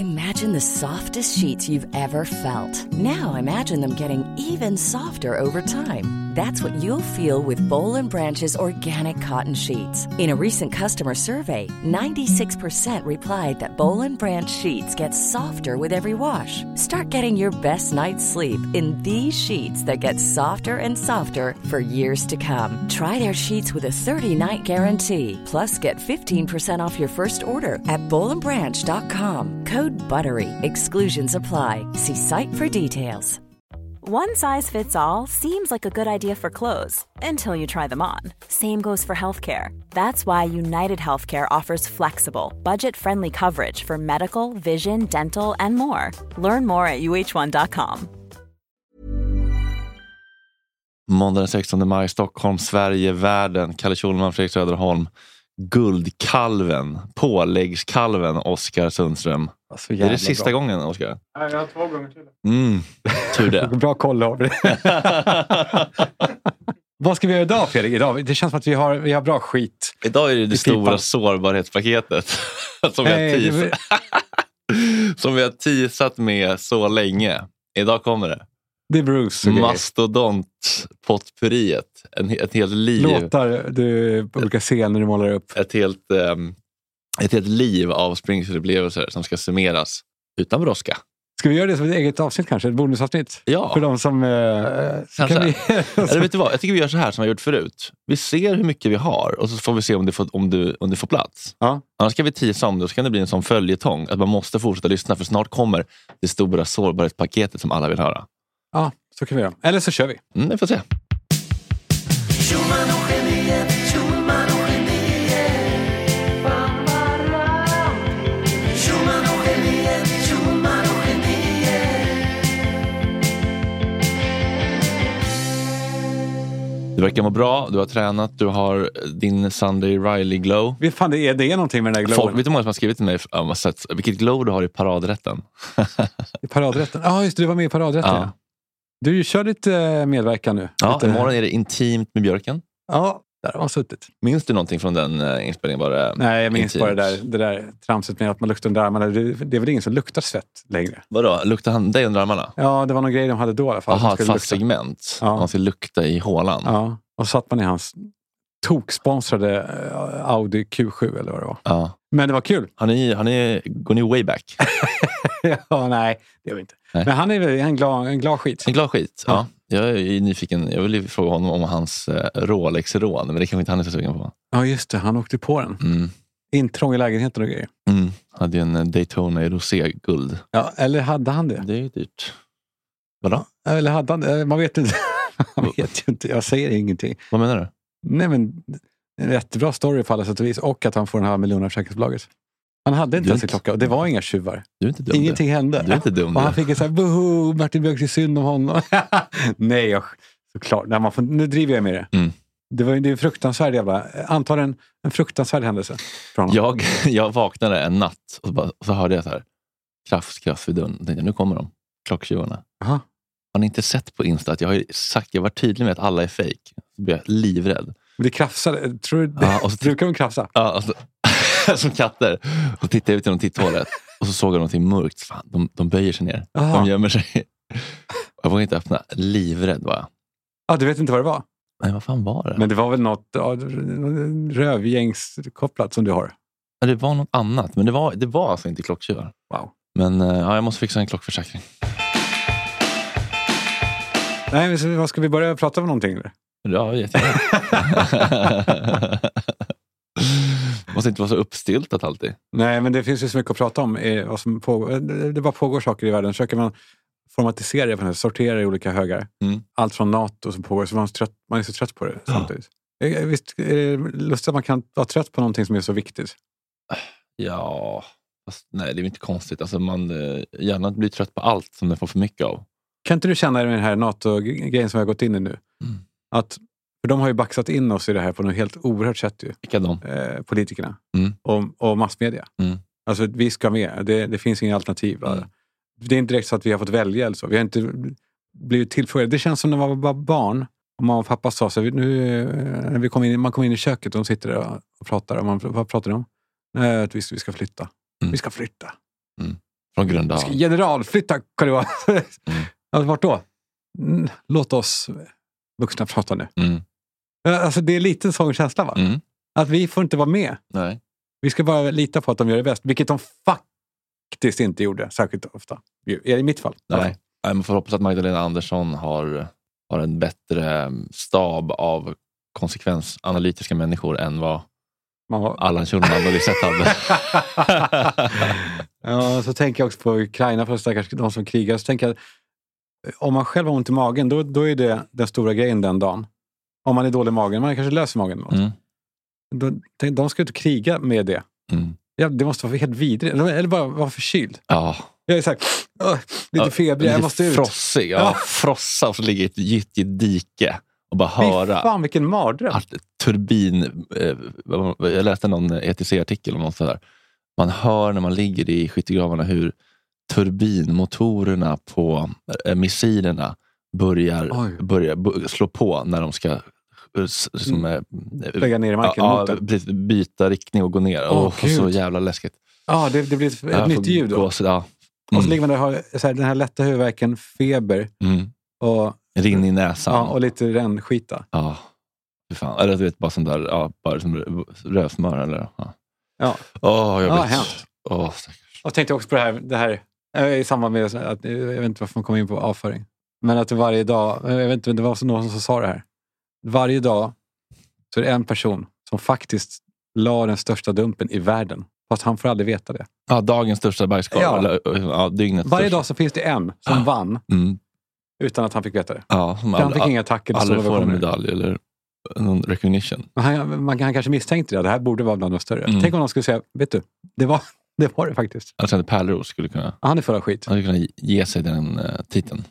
Imagine the softest sheets you've ever felt. Now imagine them getting even softer over time. That's what you'll feel with Boll and Branch's organic cotton sheets. In a recent customer survey, 96% replied that Boll and Branch sheets get softer with every wash. Start getting your best night's sleep in these sheets that get softer and softer for years to come. Try their sheets with a 30-night guarantee. Plus, get 15% off your first order at bollandbranch.com. Code BUTTERY. Exclusions apply. See site for details. One size fits all seems like a good idea for clothes until you try them on. Same goes for healthcare. That's why United Healthcare offers flexible, budget-friendly coverage for medical, vision, dental, and more. Learn more at uh1.com. Måndag den 16 maj, Stockholm, Sverige, världen. Kalle Schulman, Fredrik Söderholm. Guldkalven, påläggskalven, Oskar Sundström. Alltså, är det sista bra. Gången, Oskar? Nej, jag har 2 gånger till. Tur det. Bra koll av det. Vad ska vi göra idag, Fredrik? Idag? Det känns som att vi har bra skit. Idag är det stora sårbarhetspaketet som vi har teasat med så länge. Idag kommer det. Det är Bruce. Mastodont-potpurriet. Ett helt liv. Låtar du brukar se när du målar upp. Ett helt liv av Springfield-upplevelser som ska summeras utan brådska. Ska vi göra det som ett eget avsnitt kanske? Ett bonusavsnitt? Ja. För de som... Eller vet du vad? Jag tycker vi gör så här som vi har gjort förut. Vi ser hur mycket vi har och så får vi se om det får plats. Ja. Annars ska vi teasa om det och så kan det bli en sån följetong att man måste fortsätta lyssna för snart kommer det stora sårbarhetspaketet som alla vill höra. Ja, så kan vi göra. Eller så kör vi. Vi får se. Du verkar må bra, du har tränat, du har din Sunday Riley glow. Vet fan, det är någonting med den där glowen. Vet du många som har skrivit till mig vilket glow du har i paradrätten? I paradrätten? Ja, just det, du var med i paradrätten. Ja. Du kör lite medverkan nu. Ja, lite... imorgon är det intimt med björken. Ja, där har suttit. Minns du någonting från den inspelningen? Nej, jag minns bara det där tramset med att man luktar under armarna. Det är väl ingen som luktar svett längre. Vadå? Luktar han dig under armarna? Ja, det var någon grej de hade då i alla fall. Jaha, ett fast segment. Ja. Man ska lukta i hålan. Ja, och satt man i hans toksponsrade Audi Q7 eller vad det var. Ja. Men det var kul. Går ni way back? Ja, nej, det gör vi inte. Nej. Men han är väl en glad skit. En glad skit, ja. Jag är nyfiken. Jag vill fråga honom om hans Rolex-rån. Men det kanske inte han är så sugen på. Ja, just det. Han åkte på den. Intrång i lägenheten och grejer. Hade ju en Daytona i rosé-guld. Ja, eller hade han det? Det är ju dyrt. Vadå? Eller hade han det? Man vet inte. Man vet ju inte. Jag säger ingenting. Vad menar du? Nej, men en rätt bra story på alla sätt och vis. Och att han får den här miljonen av försäkringsbolaget. Han hade inte ens en klocka och det var inga tjuvar. Du är inte dum. Ingenting hände. Du är inte dum. Och han fick en sån här, boho, Martin Björk, det är synd om honom. Nej, såklart. Nej, nu driver jag med det. Det är en fruktansvärd jävla, antagligen en fruktansvärd händelse. Jag vaknade en natt och så hörde jag så här, kraft vid dörren. Och tänkte, nu kommer de, klocktjuvarna. Aha. Har ni inte sett på Insta att jag var tydlig med att alla är fake? Så blev jag livrädd. Men det krafsade, tror du? Ja, och så brukar de krafsa? Ja, alltså, som katter. Och tittade ut genom titthålet. Och så såg jag någonting mörkt. Fan, de böjer sig ner. Aha. De gömmer sig. Jag vågade inte öppna. Livrädd var jag. Ja, du vet inte vad det var? Nej, vad fan var det? Men det var väl något rövgängskopplat som du har? Ja, det var något annat. Men det var alltså inte klocktjuvar. Wow. Men ja, jag måste fixa en klockförsäkring. Nej, men vad ska vi börja prata om någonting? Eller? Ja, jättegärna. Måste inte vara så uppstiltat alltid. Nej, men det finns ju så mycket att prata om. Vad som pågår. Det bara pågår saker i världen. Försöker man formatisera det, sortera i olika högar. Allt från NATO som pågår. Så man är så trött på det samtidigt. Visst är det lustigt att man kan vara trött på någonting som är så viktigt? Ja, fast, nej, det är inte konstigt. Alltså, man gärna blir trött på allt som det får för mycket av. Kan inte du känna med den här NATO-grejen som jag har gått in i nu? Att, för de har ju baxat in oss i det här på något helt oerhört sätt ju. Vilka de? Politikerna. Och massmedia. Alltså vi ska med. Det finns inga alternativ. Det är inte direkt så att vi har fått välja eller så. Vi har inte blivit tillfrågade. Det känns som när man var barn. Och mamma och pappa sa så nu när man kom in i köket och de sitter där och pratar. Och vad pratar de om? Nej, att vi ska flytta. Vi ska flytta. Från Gröndal. Generalflytta, Karl-Johan. Alltså, vart då? Låt oss vuxna prata nu. Alltså det är lite sån känsla, va? Att vi får inte vara med. Nej. Vi ska bara lita på att de gör det bäst. Vilket de faktiskt inte gjorde särskilt ofta. I mitt fall. Nej, man får hoppas att Magdalena Andersson har en bättre stab av konsekvensanalytiska människor än vad Allan Schulman och Lisette hade. Ja, så tänker jag också på Ukraina, för de som krigar. Så tänker jag, om man själv har ont i magen, då är det den stora grejen den dagen. Om man är dålig i magen, man kanske löser magen. De ska inte kriga med det. Ja, det måste vara helt vidrigt. Eller bara vara förkyld. Ja. Jag är så här, lite febrig, jag måste ut. Frossig, frossa och så ligger ett gyttjigt dike och bara höra. Fan, vilken mardröm. Turbin, jag läste någon ETC-artikel om något sådär. Man hör när man ligger i skyttegravarna hur turbinmotorerna på missilerna börjar slå på när de ska lägga ner i marken. Byta riktning och gå ner. Så jävla läskigt. Ja, det blir ett nytt ljud då. Och så ligger man där och har så här, den här lätta huvudvärken, feber och rinn i näsan. Ja, och lite rännskita. Ja. Fan. Eller du vet, bara sån där, bara som rövsmör eller. Ja. Hemskt. Och tänkte också på det här i samband med att, jag vet inte varför man kommer in på avföring. Men att det varje dag, jag vet inte, det var någon som sa det här. Varje dag så är det en person som faktiskt la den största dumpen i världen. Fast han får aldrig veta det. Ja, dagens största bajskorv. Ja. Eller dygnets varje största. dag så finns det en som vann. Utan att han fick veta det. Ja, han fick inga tackor. Alla får en medalj eller någon recognition. Han kanske misstänkte det. Det här borde vara bland de större. Tänk om någon skulle säga, vet du, det var det faktiskt. Jag kände Pärleros skulle kunna... Han är full av skit. Han skulle kunna ge sig den titeln.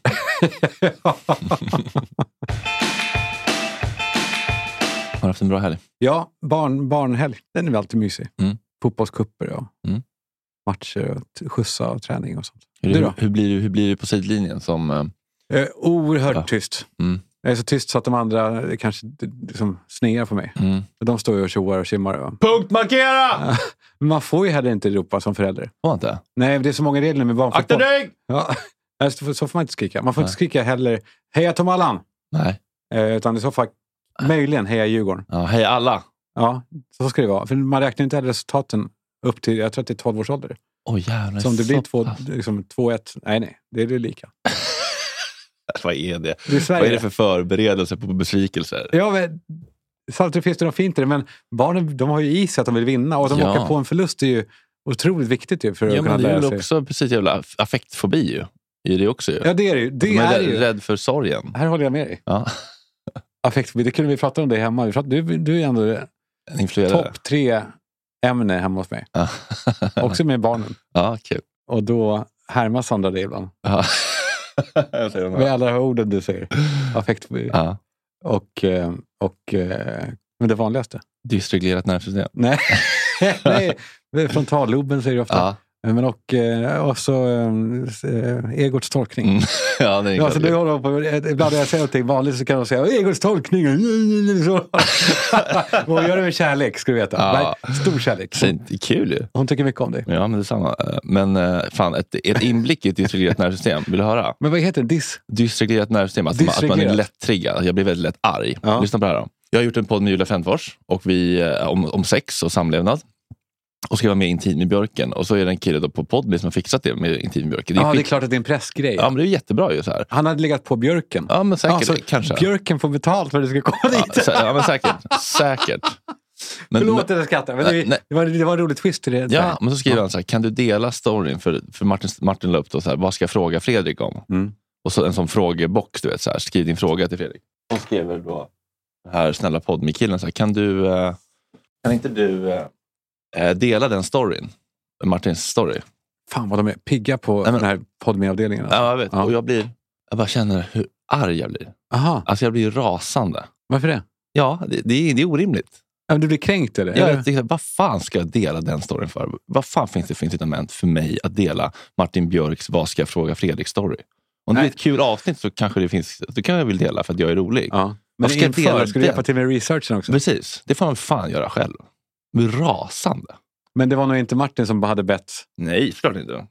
Har du haft en bra helg? Ja, barnhelg. Den är väl alltid mysig. Fotbollskupper och matcher och skjutsa och träning och sånt. Hur blir du på sidlinjen som... Oerhört tyst. Jag är så tyst så att de andra kanske liksom snear på mig. De står ju och tjoar och simmar. Punktmarkera! Man får ju heller inte ropa som förälder. Får inte? Nej, det är så många regler med barnfotboll. Akta dig! Ja, så får man inte skrika. Man får inte skrika heller, heja Tom Allan! Nej. Utan i så fall möjligen heja Djurgården. Ja, heja alla! Ja, så ska det vara. För man räknar inte heller resultaten upp till, jag tror att det är 12 års ålder. Jävlar. Så om det blir 2-1, nej, det är det lika. Vad är det? Vad är det för förberedelse på besvikelser? Ja, men samtidigt finns det något fint i det, men barnen, de har ju i sig att de vill vinna och de åker på en förlust är ju otroligt viktigt ju för att kunna lära sig. Ja, men det är också precis jävla affektfobi ju. Är det också ju. Ja, det är det ju. De är rädd för sorgen. Här håller jag med dig. Ja. Affektfobi, det kunde vi prata om det hemma. Du är ändå topp 3 ämne hemma hos mig. Också med barnen. Ja, kul. Och då härmar Sandra det ibland. Ja. Med alla orden du säger. Affektfobi. Ja. Och men det vanligaste. Dysreglerat nervsystem. Nej, frontalloben säger du ofta. Ja. Men och så Egots tolkning. Ja, det är alltså, ibland när jag säger någonting vanligt så kan de säga Egots tolkning. Hon gör det med kärlek, ska du veta. Ja. Stor kärlek. Det är kul ju. Hon tycker mycket om dig. Ja, men det är samma. Men fan, ett inblick i ett dysreglerat nervsystem. Vill du höra? Men vad heter det? Dysreglerat nervsystem. Alltså att man är lätt triggad. Jag blir väldigt lätt arg. Ja. Lyssna på det här då. Jag har gjort en podd med Julia Frändfors och vi om sex och samlevnad. Och ska vara med Intim med Björken. Och så är det en kille då på Podme som har fixat det med Intim med Björken. Det är klart att det är en pressgrej. Ja, men det är jättebra ju så här. Han hade legat på Björken. Ja, men säkert. Kanske. Björken får betalt för att det ska komma dit. Ja, men säkert. Men, förlåt att jag skrattar. Men det var en rolig twist till det. Ja, men så skriver han så här. Kan du dela storyn? För Martin la upp då så här. Vad ska jag fråga Fredrik om? Och så en sån frågebox, du vet. Så här, skriv din fråga till Fredrik. Och skriver då här snälla Podme-killen så här. Kan inte du... dela den storyn. Martins story. Fan vad de är pigga på den här Podme-avdelningen. Alltså. Ja, jag vet. Ja. Och jag bara känner hur arg jag blir. Aha. Alltså jag blir rasande. Varför det? Ja, det är orimligt. Ja, men du blir kränkt eller? Ja, jag tänkte, vad fan ska jag dela den storyn för? Vad fan finns det för incitament för mig att dela Martin Björks vad ska jag fråga Fredrik story? Om det är ett kul avsnitt så kanske det finns, då kan jag väl dela för att jag är rolig. Ja. Men ska du hjälpa till med researchen också? Precis, det får man fan göra själv. Men rasande. Men det var nog inte Martin som hade bett? Nej, såklart inte.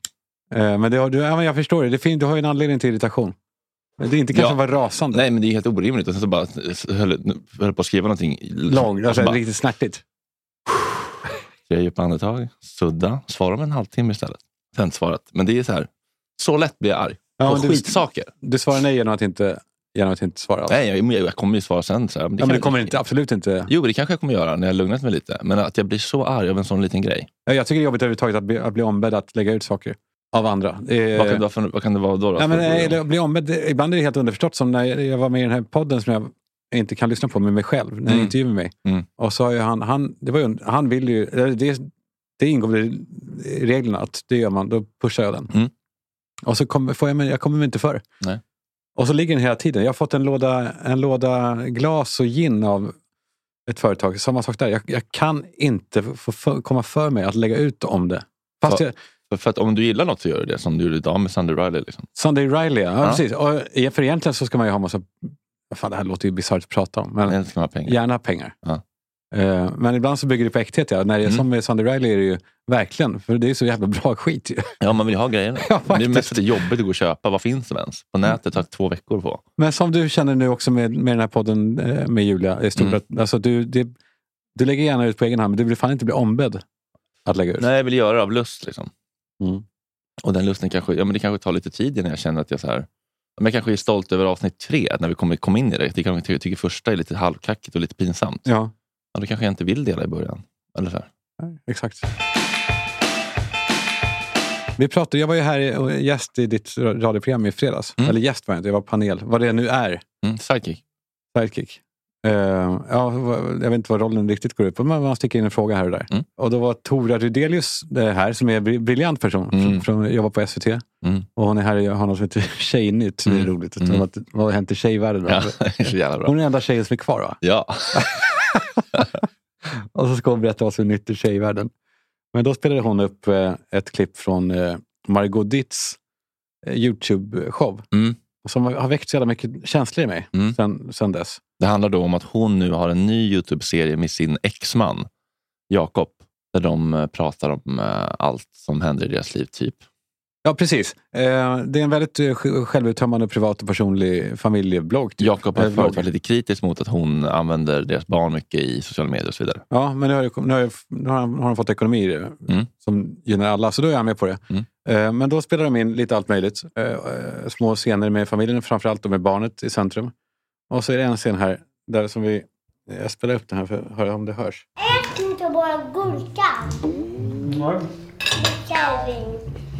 Men jag förstår det. Du har ju en anledning till irritation. Det är inte kanske vara rasande. Nej, men det är helt orimligt. Och sen så bara höll på att skriva någonting. Långt, alltså bara, riktigt snärtigt. Jag gör på andetag, sudda, svara om en halvtimme istället. Sen svarat. Men det är så här, så lätt blir jag arg. På skitsaker. Du svarar nej genom att inte svara alls. Nej, jag kommer ju svara sen. Så här, men det kommer inte, absolut inte. Jo, det kanske jag kommer göra när jag lugnat mig lite. Men att jag blir så arg av en sån liten grej. Jag tycker det är jobbigt överhuvudtaget att bli ombedd att lägga ut saker av andra. Vad kan det vara då? Eller bli ombedd, ibland är det helt underförstått, som när jag var med i den här podden som jag inte kan lyssna på med mig själv, när jag intervjuar mig. Och så har han vill ju, det ingår i reglerna att det gör man, då pushar jag den. Och så jag kommer mig inte för. Nej. Och så ligger den hela tiden. Jag har fått en låda glas och gin av ett företag. Samma sak där. Jag kan inte komma för mig att lägga ut om det. Fast för att om du gillar något så gör du det. Som du gjorde idag med Sunday Riley. Liksom. Sunday Riley, ja. Precis. Och för egentligen så ska man ju ha massa... Fan, det här låter ju bisarrt att prata om. Men ska ha pengar. Gärna pengar. Ja. Men ibland så bygger det på äkthet. Ja. När det är som med Sunday Riley är det ju verkligen. För det är så jävla bra skit ju. Ja, man vill ha grejerna. Ja, det är mest det jobbigt att gå och köpa. Vad finns det ens? På nätet tar 2 veckor på. Men som du känner nu också med den här podden med Julia. I stort alltså du lägger gärna ut på egen hand. Men du vill fan inte bli ombedd att lägga ut. Nej, jag vill göra det av lust liksom. Och den lusten kanske, det kanske tar lite tid innan jag känner att jag så här, men jag kanske är stolt över avsnitt 3 när vi kom in i det. Jag tycker första är lite halvkackigt och lite pinsamt. Ja, då kanske jag inte vill dela i början. Eller så här. Ja, exakt. Jag var ju här och gäst i ditt radioprogram i fredags. Eller gäst var jag inte, jag var panel. Vad det nu är. Sidekick. Jag vet inte vad rollen riktigt går ut på, men man sticker in en fråga här och där. Och då var Tora Rydelius det här, som är en briljant person från jobbar på SVT. Och hon är här och har något som heter Tjejnytt. Det är roligt. Vad har hänt i tjejvärlden? Ja, så jävla bra. Hon är den enda tjejen som är kvar, va? Ja. Och så ska hon berätta vad som är nytt i tjejvärlden. Men då spelade hon upp ett klipp från Margot Ditts YouTube-show. Som har väckt så jävla mycket känslor i mig sen dess. Det handlar då om att hon nu har en ny YouTube-serie med sin exman Jakob, där de pratar om allt som händer i deras liv typ. Ja, precis. Det är en väldigt självuttömmande, privat och personlig familjeblogg. Typ. Jakob har förut varit lite kritisk mot att hon använder deras barn mycket i sociala medier och så vidare. Ja, men nu har de fått ekonomi i det, som gynnar alla, så då är jag med på det. Men då spelar de in lite allt möjligt. Små scener med familjen, framförallt med barnet i centrum. Och så är det en scen här där som jag spelar upp den här för att höra om det hörs. Ät inte bara gurka. Kärring.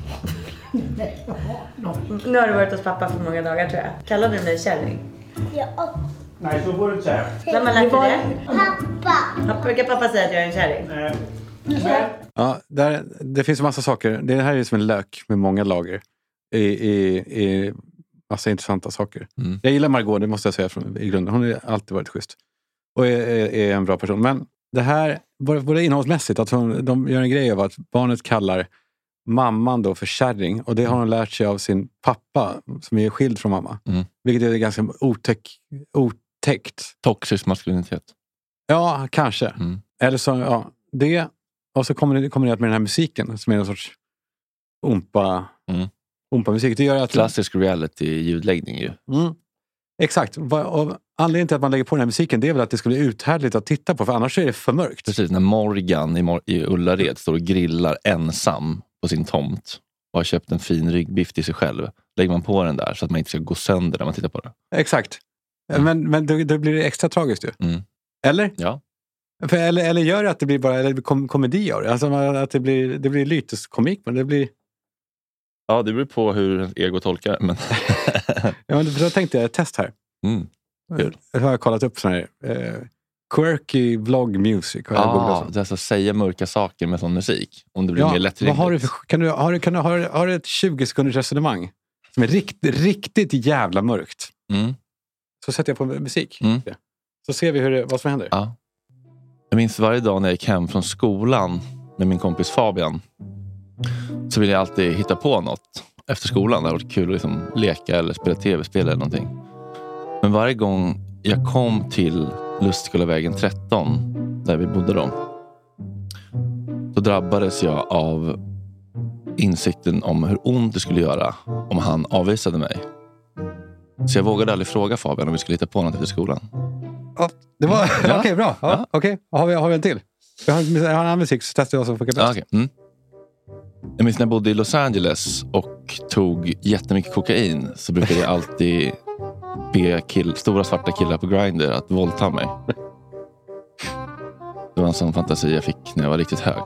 Nu har du varit hos pappa för många dagar, tror jag. Kallar du mig kärring? Ja. Nej, så får du inte säga. Vem har lärt dig det? Pappa. Brukar pappa säga att jag är en kärring? Ja, det finns en massa saker. Det här är som en lök med många lager. I massa intressanta saker. Jag gillar Margot, det måste jag säga i grunden. Hon har alltid varit schysst. Och är en bra person. Men det här, både innehållsmässigt, att de gör en grej av att barnet kallar mamman då för kärring. Och det har hon lärt sig av sin pappa, som är skild från mamma. Vilket är ganska otäckt. Toxisk maskulinitet. Ja, kanske. Eller så, ja, det. Och så kommer det med den här musiken, som är en sorts umpa-musik. Det gör att klassisk reality-ljudläggning ju. Exakt. Och anledningen till att man lägger på den här musiken, det är väl att det ska bli uthärdligt att titta på, för annars är det för mörkt. Precis, när Morgan i Ullared står och grillar ensam på sin tomt och har köpt en fin ryggbiff till sig själv, lägger man på den där så att man inte ska gå sönder när man tittar på det. Exakt. Men då blir det extra tragiskt ju. Eller? Ja. Eller gör det att det blir bara komedi av det? Alltså att det blir lyteskomik, men det blir... Ja, det beror på hur ego tolkar. Men... ja, men då tänkte jag ett test här. Jag har kollat upp sån här quirky vlog music. Det är alltså säga mörka saker med sån musik. Om det blir mer lättillgängligt. Har du ett 20 sekunders resonemang som är riktigt jävla mörkt? Så sätter jag på musik. Så ser vi vad som händer. Ja. Jag minns varje dag när jag gick hem från skolan med min kompis Fabian, så ville jag alltid hitta på något efter skolan. Det hade varit kul att liksom leka eller spela tv-spel eller någonting. Men varje gång jag kom till Lustskolevägen 13, där vi bodde då drabbades jag av insikten om hur ont det skulle göra om han avvisade mig. Så jag vågade aldrig fråga Fabian om vi skulle hitta på något efter skolan. Ja, det var okej, bra. Ja. Okej. Har vi en till? Jag har en annan musik så testar jag vad som funkar bäst. Okay. Jag minns när jag bodde i Los Angeles och tog jättemycket kokain, så brukade jag alltid be stora svarta killar på Grindr att våldta mig. Det var en sån fantasi jag fick när jag var riktigt hög.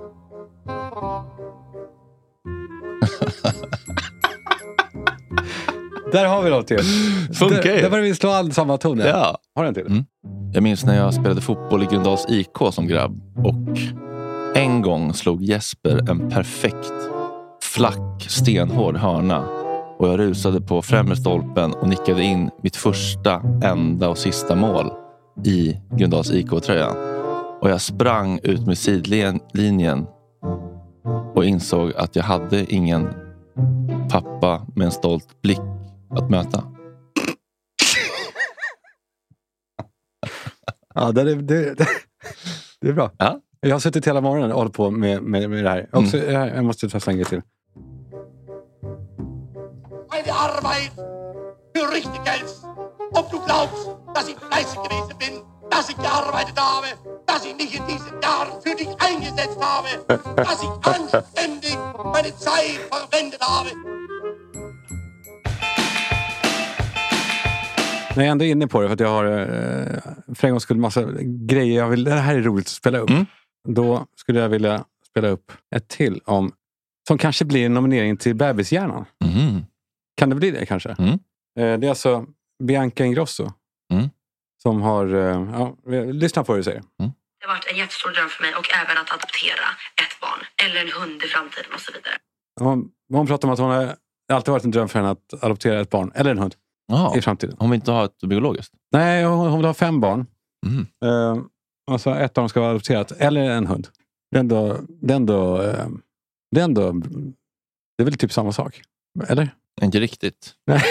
Där har vi något till. Funkar ju. Där börjar vi slå all samma ton. Ja. Har du en till? Jag minns när jag spelade fotboll i Gröndals IK som grabb. Och en gång slog Jesper en perfekt flack, stenhård hörna. Och jag rusade på främre stolpen och nickade in mitt första, enda och sista mål i Gröndals IK-tröjan. Och jag sprang ut med sidlinjen och insåg att jag hade ingen pappa med en stolt blick att möta. Ja, det är bra. Ja. Jag har suttit hela morgonen och hållit på med det här. Också, jag måste ta en grej till. Meine Arbeit für richtig Geld. Ob du glaubst, dass ich fleißig gewesen bin, dass ich gearbeitet habe, dass ich mich in diesen Jahren für dich eingesetzt habe, dass ich anständig meine Zeit verwendet habe. När jag ändå är inne på det, för att jag har för en gång skulle massa grejer det här är roligt att spela upp. Då skulle jag vilja spela upp ett till som kanske blir en nominering till Bebishjärnan. Kan det bli det kanske? Det är alltså Bianca Ingrosso som har lyssna på vad du säger. Det har varit en jättestor dröm för mig och även att adoptera ett barn eller en hund i framtiden och så vidare. Hon pratar om att hon har alltid varit en dröm för henne att adoptera ett barn eller en hund i framtiden. Hon vill inte ha ett biologiskt? Nej, hon vill ha 5 barn. Alltså ett av dem ska vara adopterat eller en hund. Det är väl typ samma sak. Eller? Inte riktigt. Nej,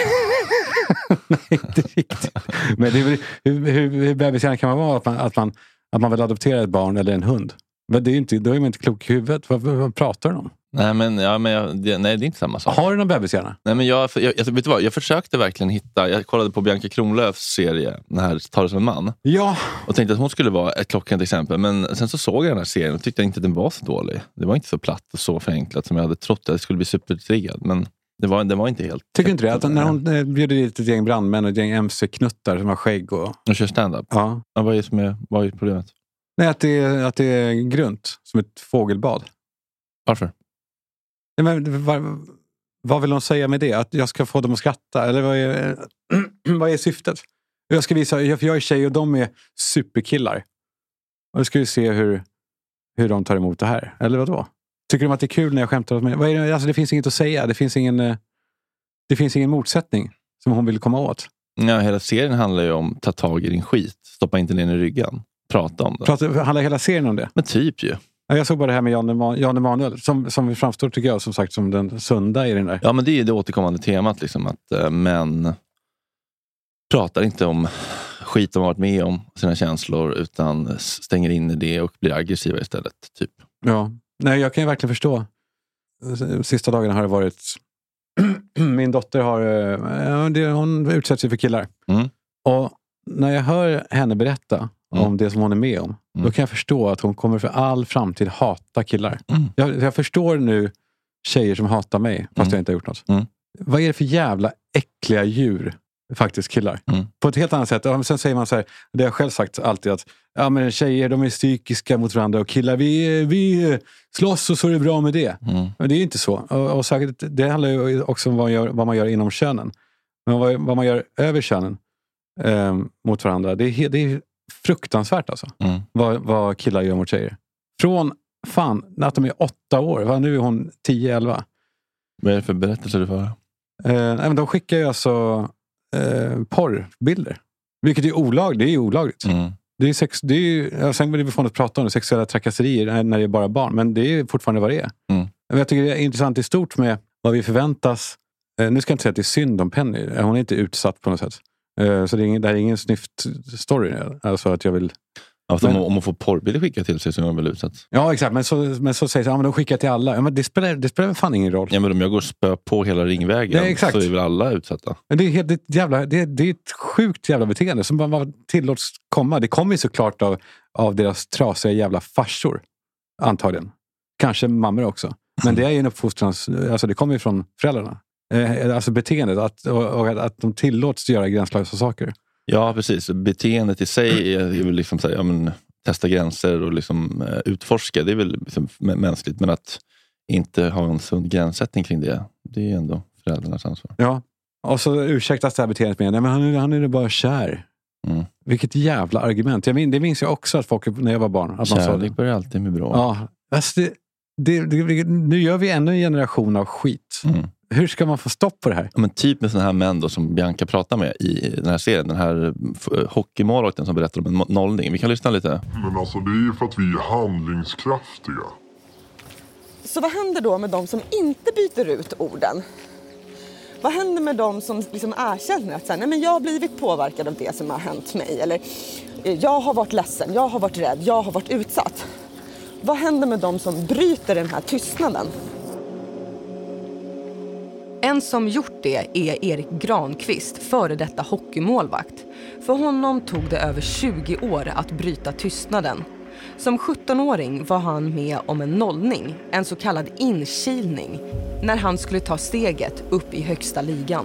inte riktigt. Men det är väl, hur bebishjärna kan man vara att man vill adoptera ett barn eller en hund? Men det är inte, då är man inte klok i huvudet. Vad pratar du om? Nej, men det är inte samma sak. Har du någon bebishjärna? Nej, men jag vet du vad, jag försökte verkligen hitta. Jag kollade på Bianca Kronlöfs serie, den här Tar det som en man. Ja. Och tänkte att hon skulle vara ett klockrent exempel. Men sen så såg jag den här serien och tyckte inte att den var så dålig. Det var inte så platt och så förenklat som jag hade trott att det skulle bli supertriggad. Men det var inte helt... Tycker inte det? Att när hon bjuder dit ett gäng brandmän och ett gäng MC-knuttar som har skägg och kör stand-up? Ja. Vad är problemet? Nej, att det är grunt. Som ett fågelbad. Varför? Nej, men vad vill hon säga med det? Att jag ska få dem att skratta? Eller vad är syftet? Jag ska visa, jag är tjej och de är superkillar. Och då ska vi se hur de tar emot det här. Eller vad då? Tycker de att det är kul när jag skämtar åt mig? Alltså det finns inget att säga. Det finns ingen motsättning som hon vill komma åt. Ja, hela serien handlar ju om ta tag i din skit. Stoppa inte ner i ryggen. Prata om det. Handlar hela serien om det? Men typ ju. Jag såg bara det här med Jan Emanuel som framstår, tycker jag, som sagt, som den sunda i den där. Ja, men det är det återkommande temat liksom, att män pratar inte om skit de har varit med om, sina känslor, utan stänger in i det och blir aggressiva istället, typ. Ja, nej, jag kan ju verkligen förstå. Sista dagarna har det varit min dotter hon utsätts ju för killar. Och när jag hör henne berätta om det som hon är med om, då kan jag förstå att hon kommer för all framtid hata killar. Jag förstår nu tjejer som hatar mig fast jag inte har gjort något. Vad är det för jävla äckliga djur faktiskt killar? På ett helt annat sätt. Och sen säger man så här, det har jag själv sagt alltid, att ja, men tjejer, de är psykiska mot varandra och killar, vi slåss och så är det bra med det. Men det är inte så. Och säkert, det handlar ju också om vad man gör inom könen. Men vad man gör över könen mot varandra, det är fruktansvärt alltså. Vad killar gör mot tjejer. Från att de är 8 år. Nu är hon 10-11. Vad är det för berättelser du får? Men de skickar ju alltså porrbilder. Vilket är olagligt. Det är ju olagligt. Det är ju, sen vill vi få något att prata om det, sexuella trakasserier när det är bara barn. Men det är fortfarande vad det är. Men jag tycker det är intressant i stort med vad vi förväntas. Nu ska jag inte säga att det är synd om Penny. Hon är inte utsatt på något sätt. Så det är ingen snyft story. Alltså att jag vill... Om man får porrbilder skickat till sig så är man väl utsatt. Ja, exakt. Men så sägs de skickar till alla. Ja, men det spelar fan ingen roll. Ja, men om jag går och spö på hela ringvägen så är väl alla utsatta. Men det är ett sjukt jävla beteende som bara tillåts komma. Det kommer ju såklart av deras trasiga jävla farsor. Antagligen. Kanske mammor också. Men det är ju en uppfostrans... Alltså det kommer ju från föräldrarna. Alltså beteendet. Att de tillåts göra gränslösa saker. Ja, precis. Beteendet i sig är väl liksom så här, testa gränser och liksom utforska. Det är väl liksom mänskligt. Men att inte ha en sund gränssättning kring det är ändå föräldrarnas ansvar. Ja. Och så ursäktas det här beteendet med nej, men han är bara kär. Vilket jävla argument. Det minns jag också att folk när jag var barn. Att kärlek börjar alltid med bra. Ja, alltså nu gör vi ännu en generation av skit. Hur ska man få stopp på det här? Ja, men typ med sådana här män då, som Bianca pratar med i den här serien. Den här hockeymålvakten som berättar om en nollning. Vi kan lyssna lite. Men alltså det är ju för att vi är handlingskraftiga. Så vad händer då med de som inte byter ut orden? Vad händer med de som liksom erkänner att nej, men jag har blivit påverkad av det som har hänt mig? Eller jag har varit ledsen, jag har varit rädd, jag har varit utsatt. Vad händer med de som bryter den här tystnaden? En som gjort det är Erik Granqvist, före detta hockeymålvakt. För honom tog det över 20 år att bryta tystnaden. Som 17-åring var han med om en nollning, en så kallad inkilning, när han skulle ta steget upp i högsta ligan.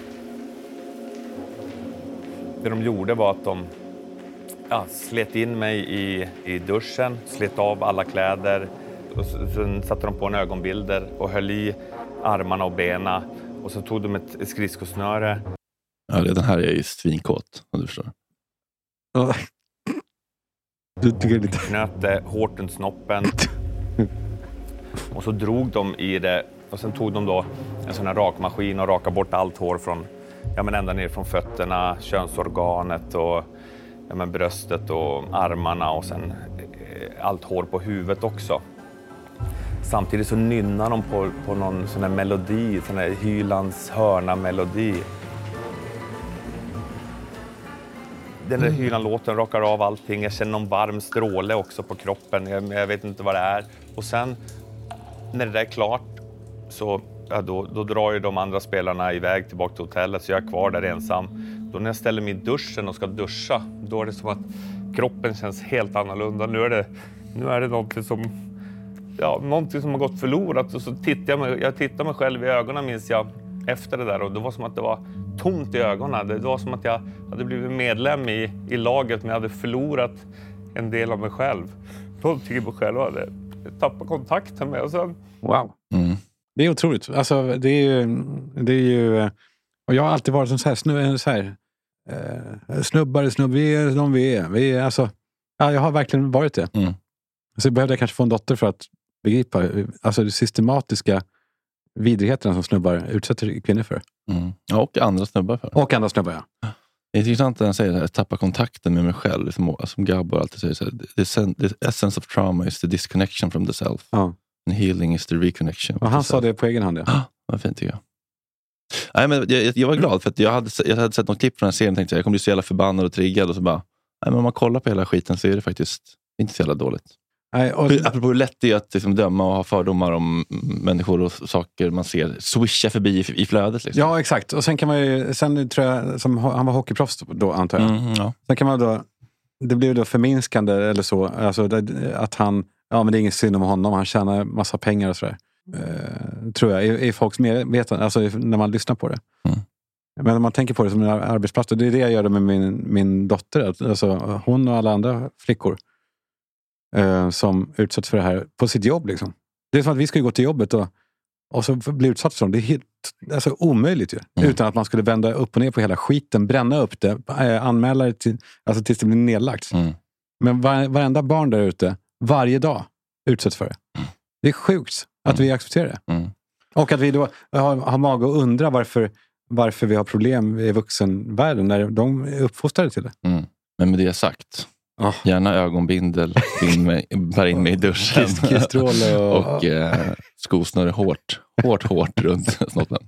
Det de gjorde var att de slet in mig i duschen, slet av alla kläder. Och sen satte de på en ögonbilder och höll i armarna och benen. Och så tog de ett skridskosnöre. Ja, den här är ju svinkåt, om du förstår. Ja. Du tycker lite... Knöt hårt runt snoppen. Och så drog de i det. Och sen tog de då en sån här rakmaskin och rakade bort allt hår från, ända ner från fötterna, könsorganet och bröstet och armarna och sen allt hår på huvudet också. Samtidigt så nynnar de på någon sån här melodi, sån här Hylands hörna-melodi. Den där Hyland-låten rakar av allting. Jag känner någon varm stråle också på kroppen. Jag vet inte vad det är. Och sen när det där är klart så då drar ju de andra spelarna iväg tillbaka till hotellet. Så jag är kvar där ensam. Då när jag ställer mig i duschen och ska duscha, då är det som att kroppen känns helt annorlunda. Nu är det någonting som har gått förlorat. Och så jag tittar mig själv i ögonen, minns jag, efter det där. Och det var som att det var tomt i ögonen. Det var som att jag hade blivit medlem i laget, men jag hade förlorat en del av mig själv. Då tycker jag på själv att jag tappade kontakten med. Och sen... Wow. Det är otroligt. Alltså, det är ju och jag har alltid varit som snubbar, vi är. Alltså, jag har verkligen varit det. Så behövde jag kanske få en dotter för att begripa alltså de systematiska vidrigheterna som snubbar utsätter kvinnor för. Ja, och andra snubbar för. Och andra snubbar, ja. Det är intressant att han säger att tappa kontakten med mig själv. Som Gabor alltid säger så här, the essence of trauma is the disconnection from the self. Ja. And healing is the reconnection. Och han sa det på egen hand, ja. Vad fint tycker jag. Nej, men jag var glad för att jag hade sett något klipp från den här serien och tänkte jag kommer bli så jävla förbannad och triggad och så bara, nej, men om man kollar på hela skiten så är det faktiskt inte så jävla dåligt. Nej, apropå hur lätt det är att liksom döma och ha fördomar om människor och saker man ser swisha förbi i flödet. Liksom. Ja, exakt. Och sen kan man ju, sen tror jag, som han var hockeyproffs då, antar jag. Ja. Sen kan man då, det blir då förminskande eller så, alltså att han, men det är ingen synd om honom, han tjänar massa pengar och sådär. Tror jag, är folks medvetande, alltså när man lyssnar på det. Men när man tänker på det som en arbetsplats, och det är det jag gör med min dotter, alltså hon och alla andra flickor som utsätts för det här på sitt jobb liksom. Det är som att vi ska gå till jobbet och så bli utsatt för det. Det är helt omöjligt ju. Utan att man skulle vända upp och ner på hela skiten, bränna upp det, anmäla det tills det blir nedlagt. Men varenda barn där ute varje dag utsätts för det. Det är sjukt att vi accepterar det. Och att vi då har mag att undra varför vi har problem i vuxenvärlden när de är uppfostrade till det. Men med det sagt, gärna ögonbindel, bär in mig i duschen och skosnöre hårt runt snoppen.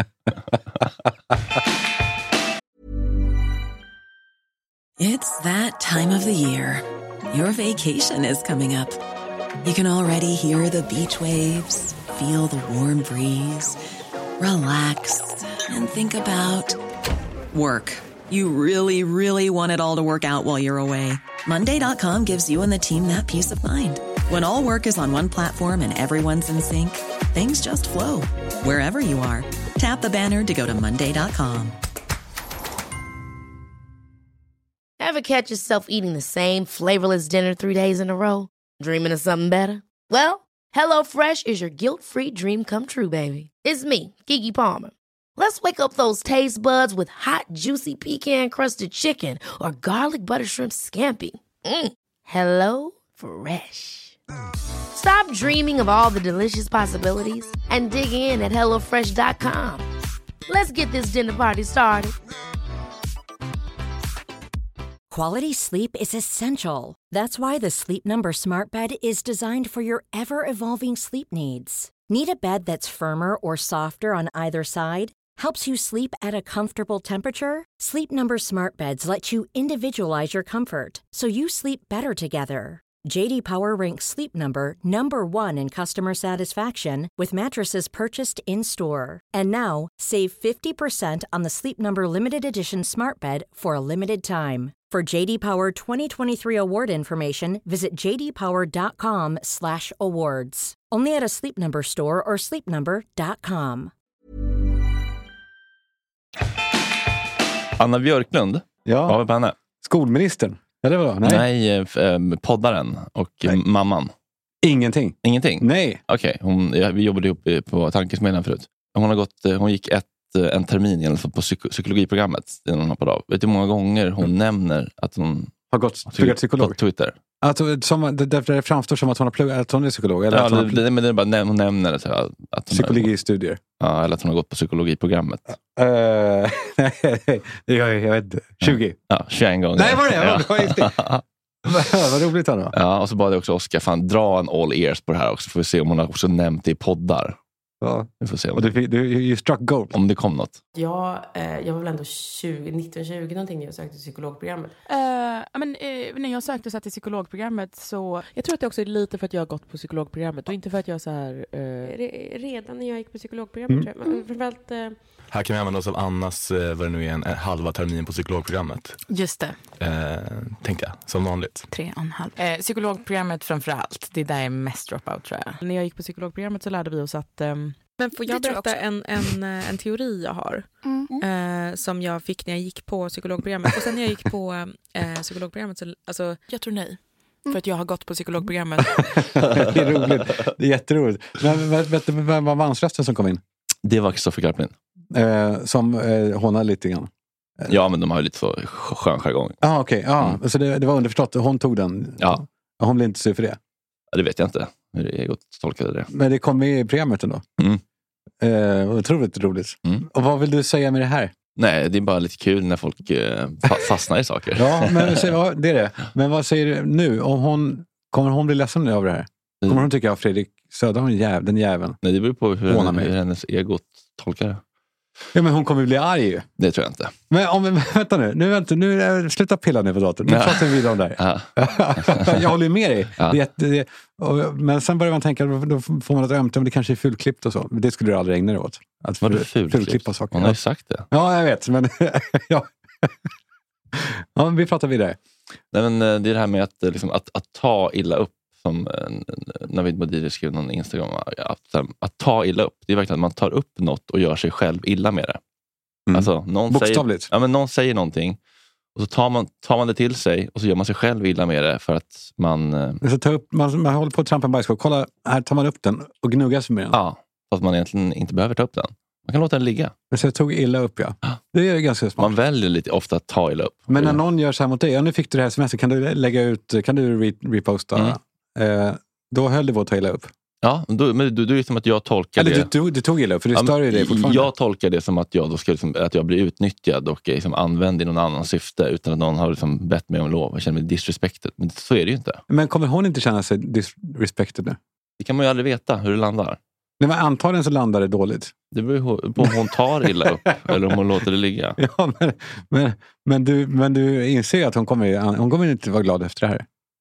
It's that time of the year. Your vacation is coming up. You can already hear the beach waves, feel the warm breeze, relax, and think about work. You really, really want it all to work out while you're away. Monday.com gives you and the team that peace of mind. When all work is on one platform and everyone's in sync, things just flow. Wherever you are, tap the banner to go to Monday.com. Ever catch yourself eating the same flavorless dinner 3 days in a row? Dreaming of something better? Well, HelloFresh is your guilt-free dream come true, baby. It's me, Keke Palmer. Let's wake up those taste buds with hot, juicy pecan-crusted chicken or garlic butter shrimp scampi. Hello Fresh. Stop dreaming of all the delicious possibilities and dig in at HelloFresh.com. Let's get this dinner party started. Quality sleep is essential. That's why the Sleep Number Smart Bed is designed for your ever-evolving sleep needs. Need a bed that's firmer or softer on either side? Helps you sleep at a comfortable temperature? Sleep Number Smart Beds let you individualize your comfort, so you sleep better together. J.D. Power ranks Sleep Number #1 in customer satisfaction with mattresses purchased in-store. And now, save 50% on the Sleep Number Limited Edition Smart Bed for a limited time. For J.D. Power 2023 award information, visit jdpower.com/awards. Only at a Sleep Number store or sleepnumber.com. Anna Björklund, vad var på henne? Skolministern. Ja, det var Nej, poddaren och mamman. Ingenting. Nej. Okej, vi jobbade ihop på Tankesmedjan förut. Hon gick en termin i alla fall på psykologiprogrammet innan hon hoppade av. Vet du hur många gånger hon nämner att hon har gått psykolog? På Twitter. Alltså, det framstår som att hon har pluggat, att hon är psykolog. Eller att men det är bara hon nämner det. Så att hon psykologistudier. Ja, eller att hon har gått på psykologiprogrammet. Jag vet inte. 20? Ja, 21 gånger. Nej, var det? Vad roligt då. Ja, och så bad jag också Oskar, fan dra en all ears på det här också. Får vi se om hon har också nämnt det i poddar. Ja. Vi får se om och du struck gold. Om det kom något. Ja, jag var väl ändå 19-20 någonting när jag sökte psykologprogrammet. När jag sökte så till psykologprogrammet så... Jag tror att det också är lite för att jag har gått på psykologprogrammet och inte för att jag så här... Redan när jag gick på psykologprogrammet tror jag. Framförallt... Här kan vi använda oss av Annas, vad det nu är, en halva termin på psykologprogrammet. Just det. Tänkte jag, som vanligt. 3,5. Psykologprogrammet framförallt. Det är där jag är mest dropout tror jag. När jag gick på psykologprogrammet så lärde vi oss att... Men får jag berätta en teori jag har som jag fick när jag gick på psykologprogrammet. Och sen när jag gick på psykologprogrammet så... Alltså, jag tror nej. För att jag har gått på psykologprogrammet. Det är roligt. Det är jätteroligt. Men vet du vem var mansrösten som kom in? Det var Kristoffer Garplin. Som honar lite grann. Ja, men de har ju lite så skön jargong. Okej. Så det var underförstått. Hon tog den. Ja. Hon blev inte sur för det. Ja, det vet jag inte. Hur jag tolkade det. Men det kom med i programmet ändå. Otroligt roligt. Och vad vill du säga med det här? Nej, det är bara lite kul när folk fastnar i saker. Ja, men det är det. Men vad säger du nu? Kommer hon bli ledsen av det här? Kommer hon tycka att Fredrik Söderholm är den jäveln? Nej, det beror på hur hennes ego tolkar det. Ja, men hon kommer bli arg ju. Det tror jag inte. Men vänta nu. Sluta pilla ner på datorn. Nu pratar vi vidare om det här. Ja. Jag håller ju med dig. Ja. Men sen börjar man tänka, då får man ett ömt om det kanske är fulklippt och så. Det skulle du aldrig ägna dig åt. Att fulklippa saker. Hon har ju sagt det. Ja, jag vet. Men ja, vi pratar vidare. Nej, men det är det här med att ta illa upp. Som Navid Modiri skrev någon Instagram att ta illa upp, det är verkligen att man tar upp något och gör sig själv illa med det. Alltså, bokstavligt. Någon säger någonting och så tar man det till sig och så gör man sig själv illa med det för att man man håller på att trampa en bajskorv. Kolla, här tar man upp den och gnuggar sig med den. Ja, fast man egentligen inte behöver ta upp den. Man kan låta den ligga. Så jag tog illa upp, ja. Det är ganska smart. Man väljer lite ofta att ta illa upp. Men när någon gör så här mot dig, nu fick du det här semester, kan du lägga ut, kan du reposta? Då höll det på att ta illa upp. Ja, men du är ju som att jag tolkar det. Eller du tog illa upp, för det stör ju det fortfarande. Jag tolkar det som att jag då ska att jag blir utnyttjad och liksom använd i någon annan syfte utan att någon har liksom bett mig om lov. Jag känner mig disrespected. Men så är det ju inte. Men kommer hon inte känna sig disrespected nu? Det kan man ju aldrig veta hur det landar. Nej, men antagligen så landar det dåligt. Det beror på om hon tar illa upp eller om hon låter det ligga. Ja, men du inser att hon kommer inte vara glad efter det här.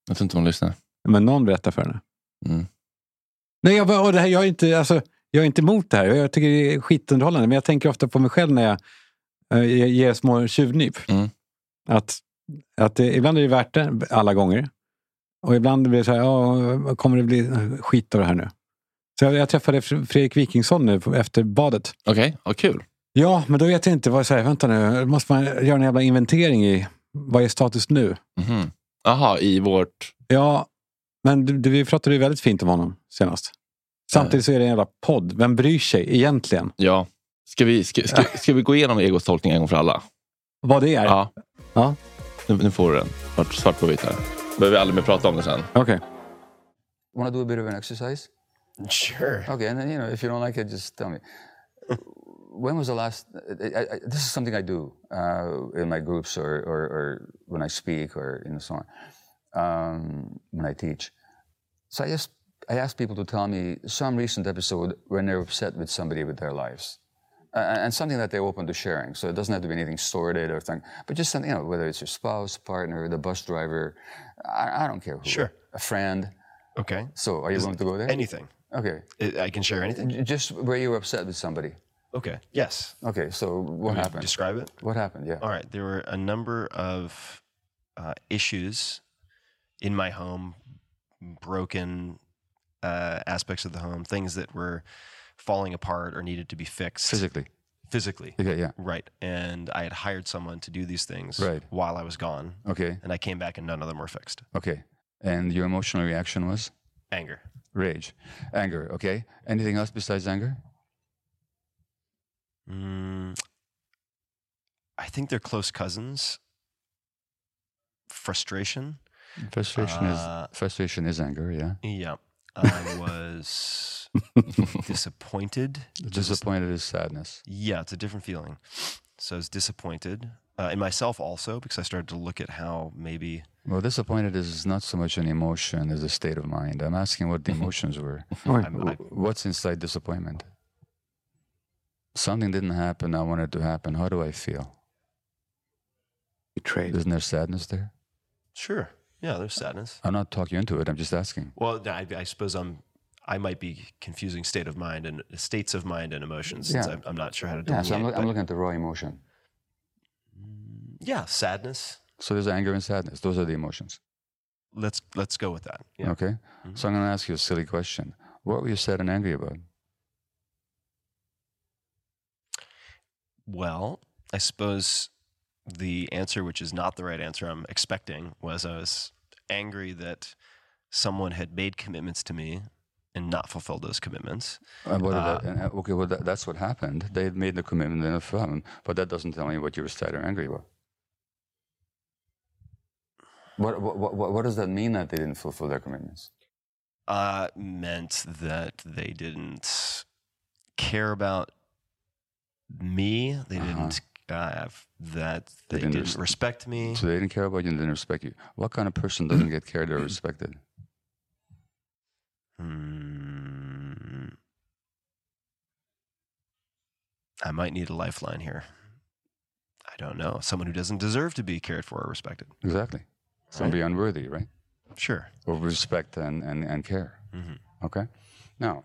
Jag tror inte hon lyssnar. Men någon berättar för henne. Mm. Nej, jag är inte emot det här. Jag tycker det är skitunderhållande. Men jag tänker ofta på mig själv när jag ger små tjuvnyp. Att ibland är det värt det, alla gånger. Och ibland blir det så här, kommer det bli skit av det här nu? Så jag träffade Fredrik Wikingsson nu efter badet. Okej, kul. Ja, men då vet jag inte vad jag säger. Vänta nu, måste man göra en jävla inventering i vad är status nu? Aha, i vårt... Ja, men vi pratade ju väldigt fint om honom senast. Samtidigt så är det en jävla podd. Vem bryr sig egentligen? Ja. Ska vi gå igenom Egos tolkning en gång för alla? Vad det är? Ja. Nu får du den. Svart på vitt här. Behöver vi aldrig mer prata om det sen. Okay. Want to do a bit of an exercise? Sure. Okay, and then, if you don't like it, just tell me. When was the last... this is something I do in my groups or when I speak or so on, when I teach. So I ask people to tell me some recent episode when they're upset with somebody with their lives. And something that they're open to sharing. So it doesn't have to be anything sordid or thing, but just something, whether it's your spouse, partner, the bus driver, I don't care who. Sure. A friend. Okay. So are you willing to go there? Anything. Okay. I can share anything? Just where you were upset with somebody. Okay. Yes. Okay, so what happened? Describe it? What happened, yeah. All right. There were a number of issues in my home, broken aspects of the home, things that were falling apart or needed to be fixed. Physically. Yeah. Right. And I had hired someone to do these things while I was gone. Okay. And I came back and none of them were fixed. Okay. And your emotional reaction was? Anger. Rage. Anger, okay. Anything else besides anger? I think they're close cousins. Frustration. Frustration is anger, yeah. Yeah. I was disappointed. Disappointed is sadness. Yeah, it's a different feeling. So I was disappointed in myself also because I started to look at how maybe... Well, disappointed is not so much an emotion as a state of mind. I'm asking what the emotions were. What's inside disappointment? Something didn't happen. I wanted it to happen. How do I feel? Betrayed. Isn't there sadness there? Sure. Yeah, there's sadness. I'm not talking into it. I'm just asking. Well, I suppose I might be confusing state of mind and states of mind and emotions. Since I'm not sure how to delineate. Yeah, so I'm looking at the raw emotion. Yeah, sadness. So there's anger and sadness. Those are the emotions. Let's go with that. Yeah. Okay. Mm-hmm. So I'm going to ask you a silly question. What were you sad and angry about? Well, I suppose the answer, which is not the right answer I'm expecting, was I was angry that someone had made commitments to me and not fulfilled those commitments. Okay, well, that's what happened. They had made the commitment and fulfilled, but that doesn't tell me what you were sad or angry about. What does that mean that they didn't fulfill their commitments? Meant that they didn't care about me. They didn't they didn't respect me. So they didn't care about you and didn't respect you. What kind of person doesn't get cared or respected? I might need a lifeline here. I don't know. Someone who doesn't deserve to be cared for or respected. Exactly. Somebody unworthy, right? Sure. Of respect and care. Mm-hmm. Okay? Now,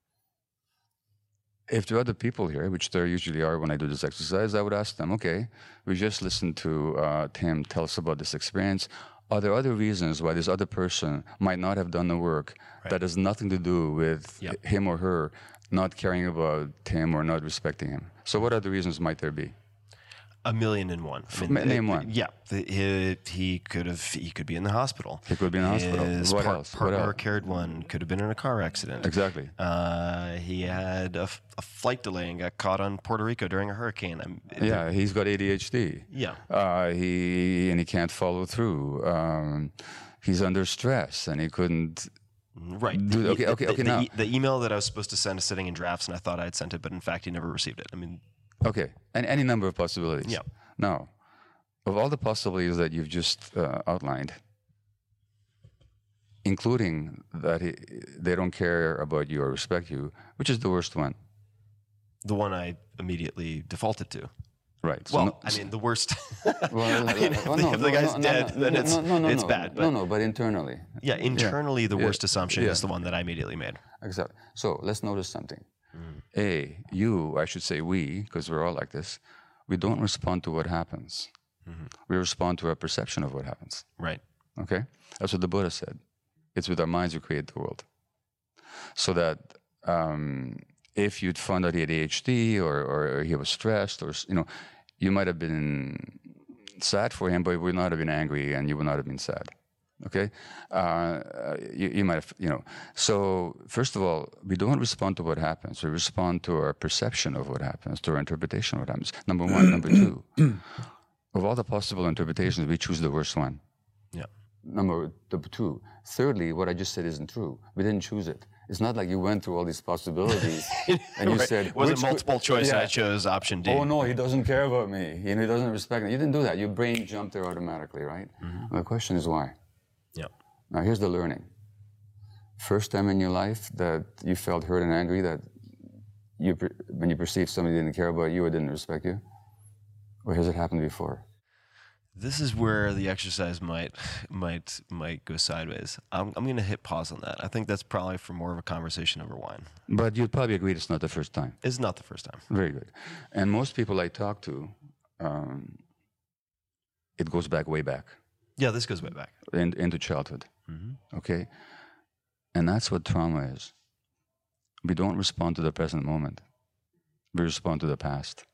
if there are other people here, which there usually are when I do this exercise, I would ask them, okay, we just listened to Tim tell us about this experience. Are there other reasons why this other person might not have done the work that has nothing to do with him or her not caring about him or not respecting him? So what other reasons might there be? 1,000,001. Name one. Yeah, he could be in the hospital. He could be in the hospital. His What else? partner carried one. Could have been in a car accident. Exactly. He had a flight delay and got caught on Puerto Rico during a hurricane. He's got ADHD. Yeah. He can't follow through. He's under stress and he couldn't. Right. Now the email that I was supposed to send is sitting in drafts, and I thought I had sent it, but in fact, he never received it. I mean. Okay, and any number of possibilities. Yeah. Now, of all the possibilities that you've just outlined, including that they don't care about you or respect you, which is the worst one? The one I immediately defaulted to. Right. So well, I mean, the worst. If the guy's dead, then it's bad. But but internally. Yeah, internally, the worst assumption is the one that I immediately made. Exactly. So let's notice something. I should say we, because we're all like this, we don't respond to what happens. We respond to our perception of what happens. Right. Okay? That's what the Buddha said. It's with our minds we create the world. So that if you'd found out he had ADHD or he was stressed, or you might have been sad for him, but you would not have been angry and you would not have been sad. Okay? You might have, So first of all, we don't respond to what happens. We respond to our perception of what happens, to our interpretation of what happens. Number one. Number two, of all the possible interpretations, we choose the worst one. Yeah. Number two. Thirdly, what I just said isn't true. We didn't choose it. It's not like you went through all these possibilities and you said... It wasn't multiple choice and I chose option D. Oh, no, he doesn't care about me. He doesn't respect me. You didn't do that. Your brain jumped there automatically, right? And the question is why? Yeah. Now, here's the learning. First time in your life that you felt hurt and angry, that when you perceived somebody didn't care about you or didn't respect you? Or has it happened before? This is where the exercise might go sideways. I'm going to hit pause on that. I think that's probably for more of a conversation over wine. But you'd probably agree it's not the first time. It's not the first time. Very good. And most people I talk to, it goes back way back. Yeah, this goes way back. Into childhood. Okay? And that's what trauma is. We don't respond to the present moment. We respond to the past.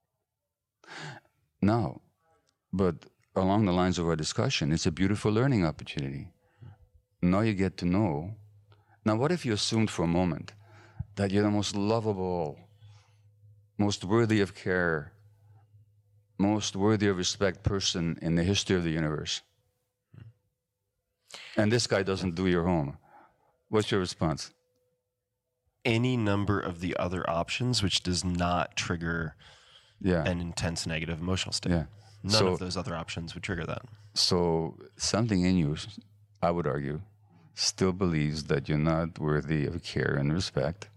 Now, but along the lines of our discussion, it's a beautiful learning opportunity. Now you get to know. Now, what if you assumed for a moment that you're the most lovable, most worthy of care, most worthy of respect person in the history of the universe? And this guy doesn't do your home. What's your response? Any number of the other options which does not trigger an intense negative emotional state. Yeah. None of those other options would trigger that. So something in you, I would argue, still believes that you're not worthy of care and respect.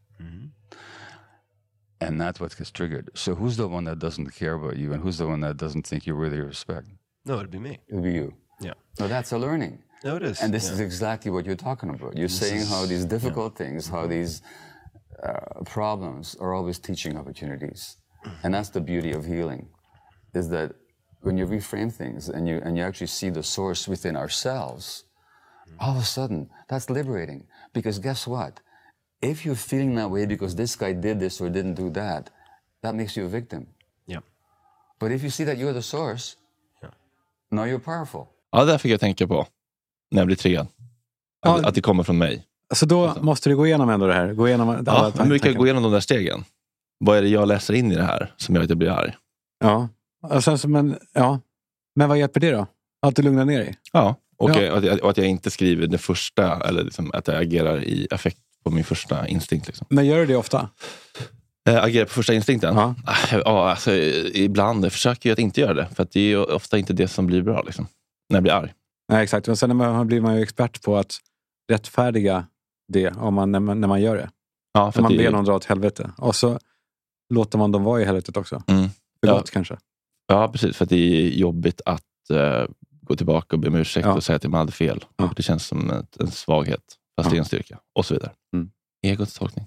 And that's what gets triggered. So who's the one that doesn't care about you and who's the one that doesn't think you're worthy of respect? No, it'd be me. It'd be you. Yeah. No, that's a learning. No, it is. And this is exactly what you're talking about. You're saying how these difficult things, how these problems are always teaching opportunities. And that's the beauty of healing, is that when you reframe things and you actually see the source within ourselves, all of a sudden, that's liberating. Because guess what? If you're feeling that way because this guy did this or didn't do that, that makes you a victim. Yeah. But if you see that you're the source, now you're powerful. Ja, det fick jag tänka på när jag blev triggad. Att det kommer från mig. Så då måste du gå igenom ändå det här. Gå igenom hur mycket gå igenom de där stegen? Vad är det jag läser in i det här som gör att jag blir arg? Ja, men vad hjälper det då? Att du lugnar ner dig? Ja, och att jag inte skriver det första, eller liksom att jag agerar i affekt på min första instinkt. Liksom. Men gör du det ofta? Agerar på första instinkten? Ja, alltså, ibland försöker jag att inte göra det. För att det är ofta inte det som blir bra liksom, när jag blir arg. Nej, exakt. Men sen blir man ju expert på att rättfärdiga det när man gör det. Ja, för man ber någon dra åt helvete. Och så låter man dem vara i helvetet också. Förlåt kanske. Ja, precis. För att det är jobbigt att gå tillbaka och be om ursäkt och säga att man hade fel. Det känns som en svaghet. Fast det är en styrka. Och så vidare. Egots tolkning.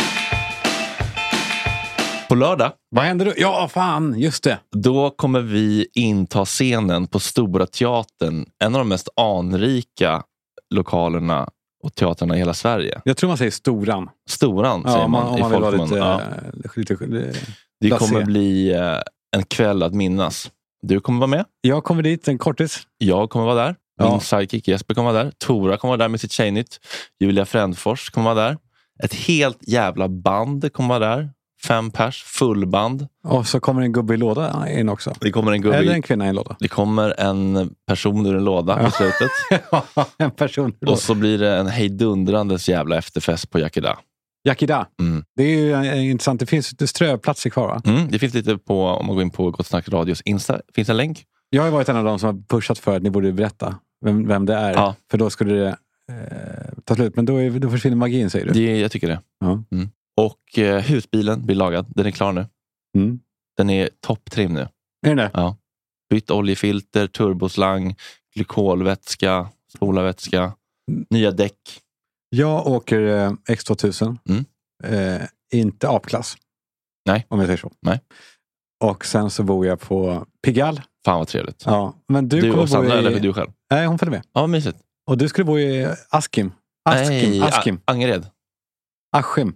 På lördag. Vad händer då? Ja, fan, just det. Då kommer vi inta scenen på Stora Teatern. En av de mest anrika lokalerna och teatrarna i hela Sverige. Jag tror man säger Storan. Storan säger man i folkmun. Det kommer bli en kväll att minnas. Du kommer vara med. Jag kommer dit, en kortis. Jag kommer vara där. Min sidekick Jesper kommer vara där. Tora kommer vara där med sitt tjejnytt. Julia Frändfors kommer vara där. Ett helt jävla band kommer vara där. 5 pers, fullband. Och så kommer en gubbe i låda in också. Det kommer en gubbe eller en kvinna i en låda. Det kommer en person ur en låda på slutet. En person. Och så blir det en hejdundrandes jävla efterfest på Yakida. Yakida. Det är ju intressant. Det finns lite strövplatser kvar, va? Det finns lite på, om man går in på Gott Snack Radios Insta, finns en länk. Jag har varit en av dem som har pushat för att ni borde berätta vem det är. Ja. För då skulle det ta slut. Men då försvinner magin, säger du. Jag tycker det. Ja. Och husbilen blir lagad. Den är klar nu. Den är topptrim nu. Är det? Ja. Bytt oljefilter, turboslang, glykolvätska, spolarvätska, nya däck. Jag åker X2000. Inte A-klass. Nej. Om jag säger så. Nej. Och sen så bor jag på Pigalle. Fan vad trevligt. Ja, men du och kommer Sandra, bo i... eller du själv? Nej, hon följer med. Ja, vad mysigt. Och du skulle bo i Askim. Askim. Angered. Askim.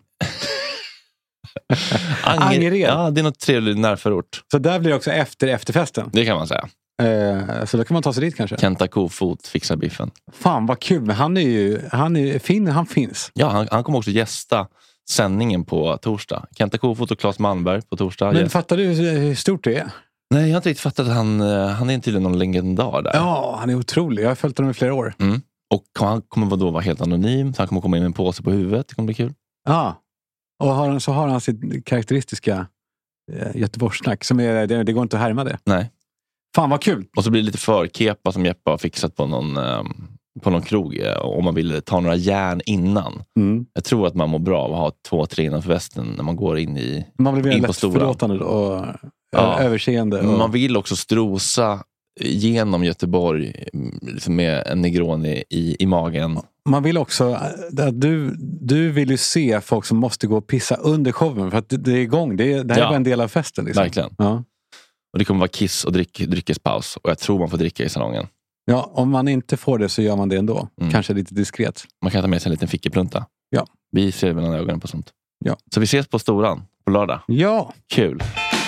Angered. Ja, det är något trevligt närförort. Så där blir det också efterfesten. Det kan man säga. Så då kan man ta sig dit kanske. Kenta Kofot fixar biffen. Fan vad kul, men han är fin, han finns. Ja, han kommer också gästa sändningen på torsdag. Kenta Kofot och Claes Malmberg på torsdag. Men fattar du hur stort det är? Nej, jag har inte riktigt fattat att han är tydligen någon legendar där. Ja, han är otrolig. Jag har följt honom i flera år. Och han kommer då vara helt anonym. Så han kommer komma in med en påse på huvudet. Det kommer bli kul. Ja, och så har han sitt karaktäristiska Göteborgssnack. Som det går inte att härma det. Nej. Fan vad kul. Och så blir det lite förkepa som Jeppe har fixat på någon krog. Om man vill ta några järn innan. Jag tror att man mår bra av att ha 2-3 innanför västen när man går in i man blir in lätt på stora. Förlåtande och överseende. Och... Man vill också strosa genom Göteborg liksom med en Negroni i magen. Man vill också att du vill ju se folk som måste gå och pissa under showen för att det är igång. Det här är bara en del av festen. Liksom. Verkligen. Ja. Och det kommer vara kiss och dryckespaus. Och jag tror man får dricka i salongen. Ja, om man inte får det så gör man det ändå. Kanske lite diskret. Man kan ta med sig en liten fickeplunta. Ja. Vi ser mellan ögonen på sånt. Ja. Så vi ses på Storan på lördag. Ja. Kul.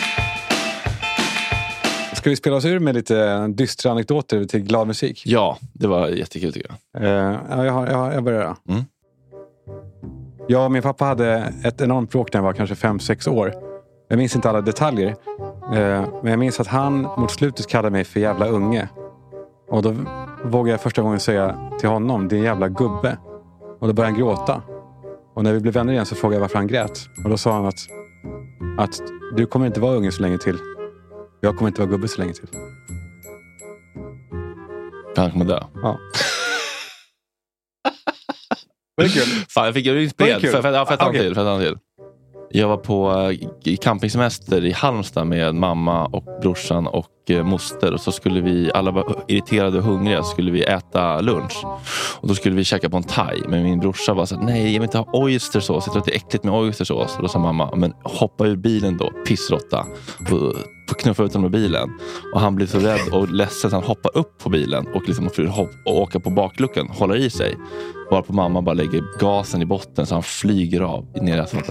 Ska vi spela oss ur med lite dystra anekdoter till glad musik? Ja, det var jättekul tycker jag. Jag börjar. Jag och min pappa hade ett enormt bråk när jag var kanske 5-6 år. Jag minns inte alla detaljer. Men jag minns att han mot slutet kallade mig för jävla unge. Och då vågade jag första gången säga till honom, din jävla gubbe. Och då började han gråta. Och när vi blev vänner igen så frågade jag varför han grät. Och då sa han att du kommer inte vara unge så länge till. Jag kommer inte vara gubbe så länge till. Han kommer dö. Ja. Var det kul? Fan, jag fick ju inspirerad. För att till. Jag var på campingsemester i Halmstad med mamma och brorsan och moster. Och så skulle vi, alla var irriterade och hungriga, så skulle vi äta lunch. Och då skulle vi käka på en thai. Men min brorsa var så här, nej jag vill inte ha oystersås. Jag tror att det är äckligt med oystersås. Och då sa mamma, men hoppa ur bilen då, pissrotta. Och knuffa ut honom ur bilen. Och han blev så rädd och ledsen att han hoppade upp på bilen. Och liksom och åka på bakluckan, håller i sig. Varpå mamma bara lägger gasen i botten så han flyger av ner i asfalten.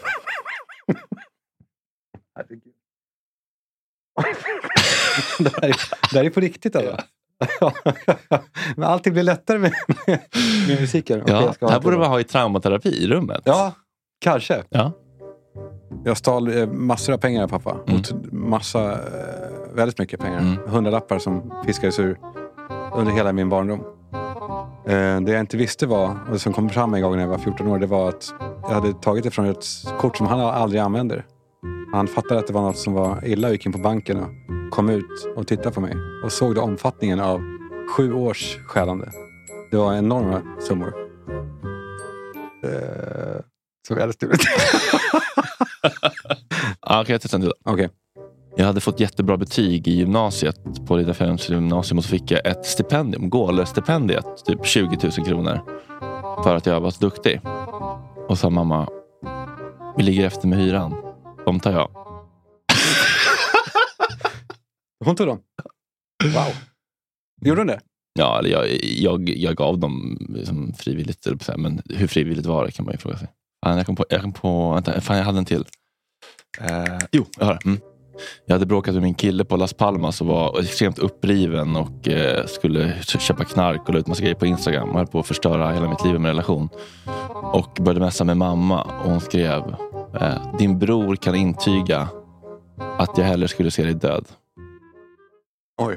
Det här är på riktigt alltså. Men allting blir lättare med musiken. Ja, här borde man ha i traumaterapi i rummet. Ja, kanske. Ja. Jag stal massor av pengar av pappa. Väldigt mycket pengar. 100-lappar som fiskades ur under hela min barndom. Det jag inte visste var, och det som kom fram en gång när jag var 14 år, det var att jag hade tagit det från ett kort som han aldrig använder. Han fattade att det var något som var illa och gick in på banken och kom ut och tittade på mig. Och såg då omfattningen av 7 års stjälande. Det var enorma summor. Så väldigt stort. Okej, jag testar en till. Okej. Jag hade fått jättebra betyg i gymnasiet på Riddarfjällens gymnasium och så fick jag ett stipendium, Gåler-stipendiet, typ 20 000 kronor för att jag var så duktig. Och sa mamma, vi ligger efter med hyran. De tar jag. Hon tog dem? Wow. Gjorde hon det? Ja, eller jag gav dem liksom frivilligt, men hur frivilligt var det kan man ju fråga sig. Jag kom på vänta, fan jag hade en till. Jo, jag har det. Jag hade bråkat med min kille på Las Palmas och var extremt uppriven och skulle köpa knark och la ut massa grejer på Instagram och höll på att förstöra hela mitt liv med relation. Och började mässa med mamma och hon skrev, din bror kan intyga att jag hellre skulle se dig död. Oj.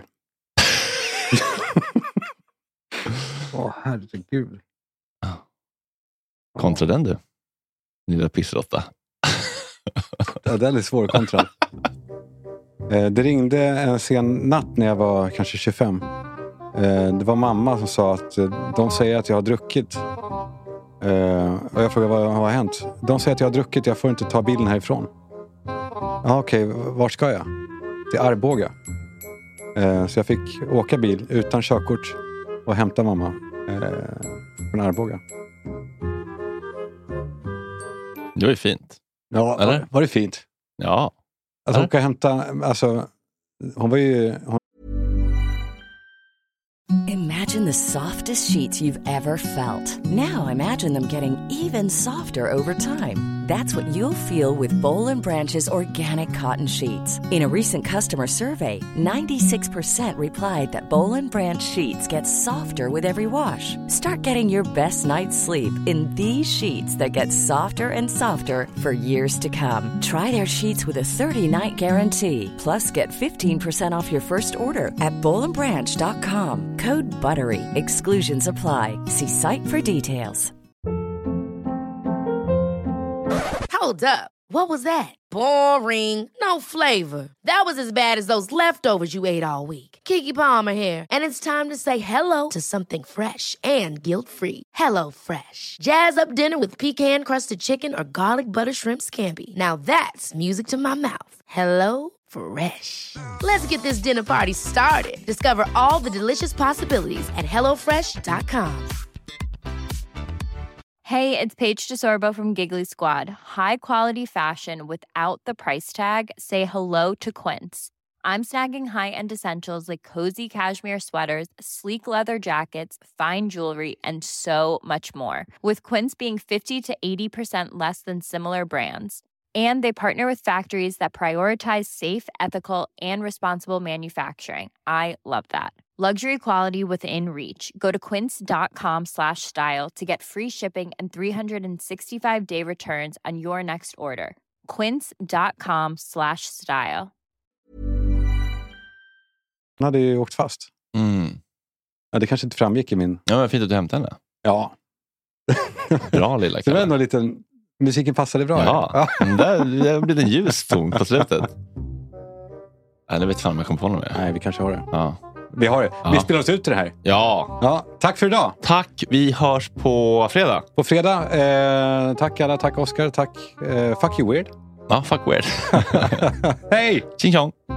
Herregud. Kontra den du, lilla pissrotta. Ja, den är svår kontra. Det ringde en sen natt när jag var kanske 25. Det var mamma som sa att de säger att jag har druckit. Och jag frågade vad har hänt. De säger att jag har druckit, jag får inte ta bilen härifrån. Ja, okej, var ska jag? till Arboga. Så jag fick åka bil utan körkort och hämta mamma från Arboga. Det var ju fint. Ja, eller? Var det fint? Ja. Alltså åka och hämta, alltså hon var ju... Imagine the softest sheets you've ever felt. Now imagine them getting even softer over time. That's what you'll feel with Boll & Branch's organic cotton sheets. In a recent customer survey, 96% replied that Boll & Branch sheets get softer with every wash. Start getting your best night's sleep in these sheets that get softer and softer for years to come. Try their sheets with a 30-night guarantee. Plus, get 15% off your first order at bollandbranch.com. Code BUTTERY. Exclusions apply. See site for details. Hold up. What was that? Boring. No flavor. That was as bad as those leftovers you ate all week. Keke Palmer here, and it's time to say hello to something fresh and guilt-free. Hello Fresh. Jazz up dinner with pecan-crusted chicken or garlic butter shrimp scampi. Now that's music to my mouth. Hello Fresh. Let's get this dinner party started. Discover all the delicious possibilities at hellofresh.com. Hey, it's Paige DeSorbo from Giggly Squad. High quality fashion without the price tag. Say hello to Quince. I'm snagging high-end essentials like cozy cashmere sweaters, sleek leather jackets, fine jewelry, and so much more. With Quince being 50 to 80% less than similar brands. And they partner with factories that prioritize safe, ethical, and responsible manufacturing. I love that. Luxury quality within reach. Go to quince.com/style to get free shipping and 365-day returns on your next order. Quince.com/style. Han hade ju åkt fast. Ja, det kanske inte framgick i min... Ja, men fint att du hämtade henne. Ja. Bra lilla Det var ändå lite... Musiken passade bra. Ja, det blir en ljus ton på slutet. Jag vet fan om jag kom på något mer. Nej, vi kanske har det. Ja. Vi har det. Ja. Vi spelar oss ut till det här. Ja. Tack för idag. Tack. Vi hörs på fredag. På fredag. Tack alla. Tack Oscar. Tack. Fuck you weird. Ja, fuck weird. Hej! Tjing tjong.